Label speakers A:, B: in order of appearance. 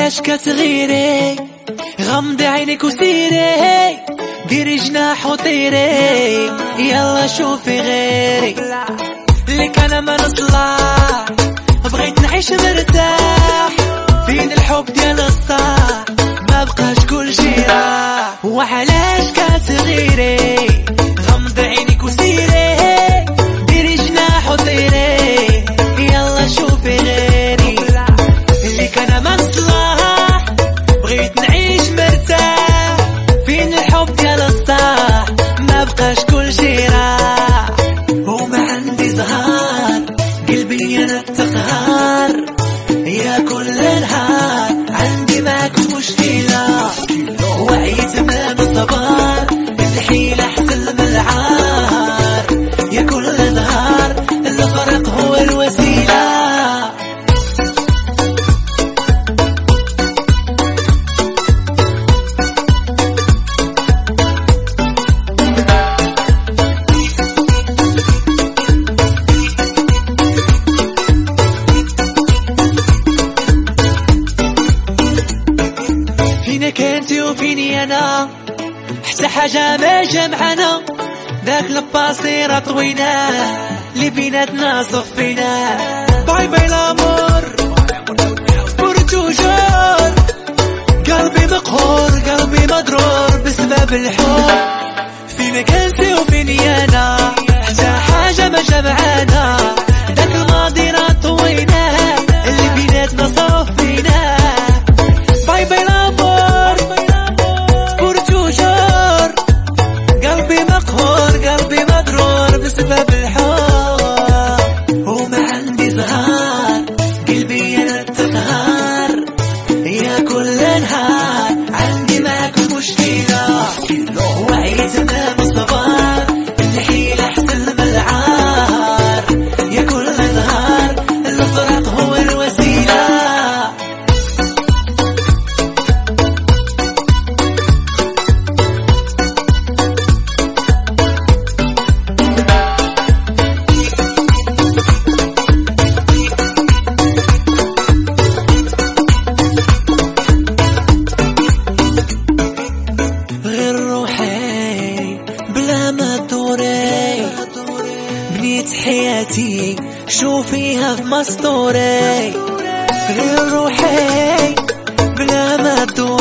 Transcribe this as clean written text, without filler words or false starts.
A: وعلاش كتغيري؟ غمضي عينيك وسيري، ديري جناح وطيري، يلا شوفي غيري. لك انا ما نصلح، بغيت نعيش مرتاح، فين الحب ديال الصح، ما بقاش كل شي راح. وعلاش كتغيري؟ غمضي عينيك وسيري، ديري جناح وطيري، يلا شوفي غيري. لك انا ما نصلح، بغيت نعيش مرتاح، فين الحب ديال الصح، ما بقاش كل شي راح. وما عندي زهار، قلبي انا التقهار، يا كل نهار عندي معك مشكلة، وعيت من الصبر، الحيلة احسن من العار، يا كل نهار الفرق هو الوسيلة. فينك انتي وفيني انا، حتى حاجة ما جمعنا، داك الباصيرة طوينا، اللي بيناتنا صفينا. باي باي لامور بور توجور، قلبي مقهور قلبي مضرور بسبب الحب. فينك انتي وفيني انا، حتى حاجة ما جمعنا، داك الماضي راه طوينا، اللي بيناتنا صفينا. باي باي لامور بور توجور، قلبي مقهور قلبي مضرور بسبب الحب. وما عندي زهار، قلبي انا التقهار، يا كل نهار عندي معك مشكلة، وعيت من الصبر، الحيلة احسن من العار، يا كل نهار الفراق هو الوسيلة. غير روحي بلا ما تدوري، بنيت حياتي شوفيها في مسطوري. غير روحي بلا ما تدوري،